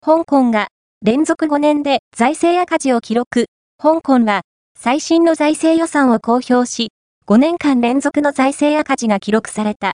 香港が連続5年で財政赤字を記録。香港は最新の財政予算を公表し、5年間連続の財政赤字が記録された。